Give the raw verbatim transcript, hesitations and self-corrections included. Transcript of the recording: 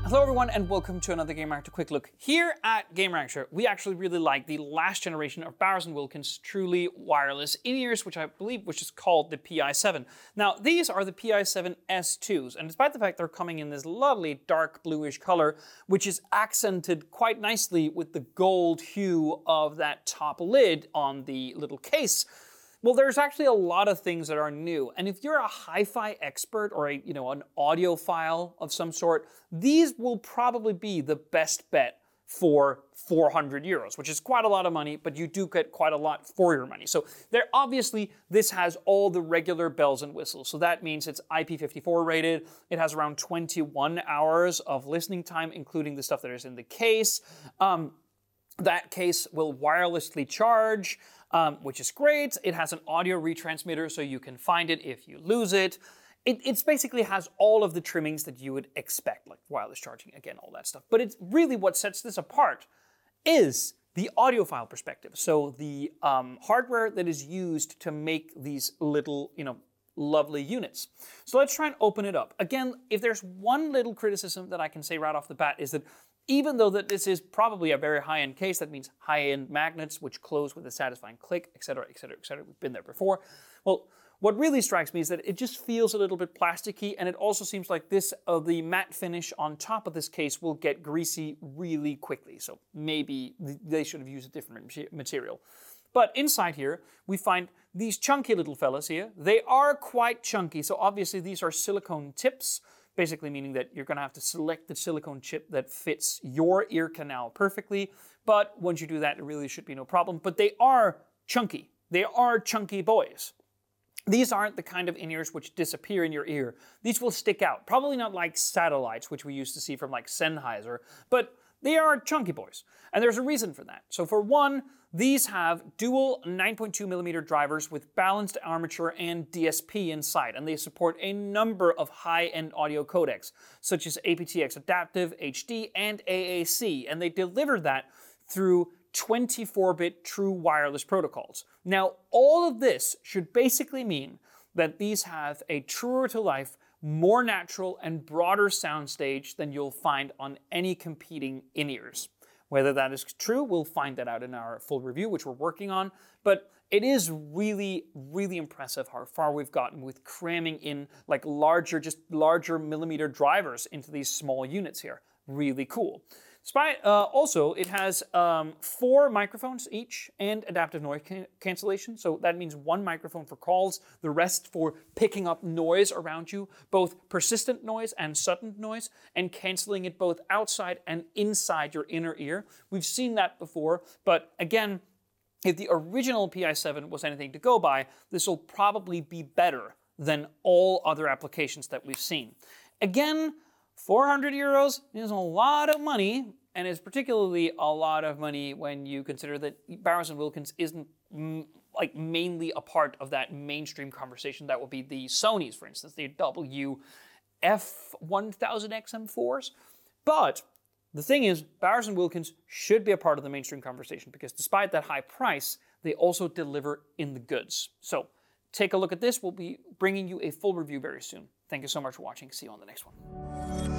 Hello everyone and welcome to another Gamereactor Quick Look. Here at Gamereactor, we actually really like the last generation of Bowers and Wilkins truly wireless in-ears, which I believe which is called the P I seven. Now, these are the P I seven S twos, and despite the fact they're coming in this lovely dark bluish color, which is accented quite nicely with the gold hue of that top lid on the little case, well, there's actually a lot of things that are new, and if you're a hi-fi expert or a, you know, an audiophile of some sort, these will probably be the best bet for four hundred euros, which is quite a lot of money, but you do get quite a lot for your money. So there, obviously, this has all the regular bells and whistles. So that means it's I P fifty-four rated. It has around twenty-one hours of listening time, including the stuff that is in the case. Um, That case will wirelessly charge, um, which is great. It has an audio retransmitter, so you can find it if you lose it. It it's basically has all of the trimmings that you would expect, like wireless charging, again, all that stuff. But it's really what sets this apart is the audiophile perspective. So the um, hardware that is used to make these little, you know, lovely units. So let's try and open it up. Again, if there's one little criticism that I can say right off the bat is that even though that this is probably a very high-end case, that means high-end magnets which close with a satisfying click, et cetera, et cetera, et cetera. We've been there before. Well, what really strikes me is that it just feels a little bit plasticky, and it also seems like this, uh, the matte finish on top of this case will get greasy really quickly. So maybe they should have used a different material. But inside here, we find these chunky little fellas here. They are quite chunky, so obviously these are silicone tips, basically meaning that you're going to have to select the silicone chip that fits your ear canal perfectly. But once you do that, it really should be no problem. But they are chunky. They are chunky boys. These aren't the kind of in-ears which disappear in your ear. These will stick out. Probably not like satellites, which we used to see from like Sennheiser, but they are chunky boys. And there's a reason for that. So for one, these have dual nine point two millimeter drivers with balanced armature and D S P inside, and they support a number of high-end audio codecs, such as A P T X Adaptive, H D, and A A C, and they deliver that through twenty-four bit true wireless protocols. Now, all of this should basically mean that these have a truer-to-life, more natural and broader soundstage than you'll find on any competing in-ears. Whether that is true, we'll find that out in our full review, which we're working on, but it is really, really impressive how far we've gotten with cramming in like larger, just larger millimeter drivers into these small units here. Really cool. Despite, uh, also, it has um, four microphones each and adaptive noise can cancellation. So that means one microphone for calls, the rest for picking up noise around you, both persistent noise and sudden noise, and canceling it both outside and inside your inner ear. We've seen that before, but again, if the original P I seven was anything to go by, this will probably be better than all other applications that we've seen. Again, four hundred euros is a lot of money, and it's particularly a lot of money when you consider that Bowers and Wilkins isn't mm, like mainly a part of that mainstream conversation that will be the Sonys, for instance, the W F one thousand X M fours. But the thing is, Bowers and Wilkins should be a part of the mainstream conversation because despite that high price, they also deliver in the goods. So take a look at this. We'll be bringing you a full review very soon. Thank you so much for watching. See you on the next one.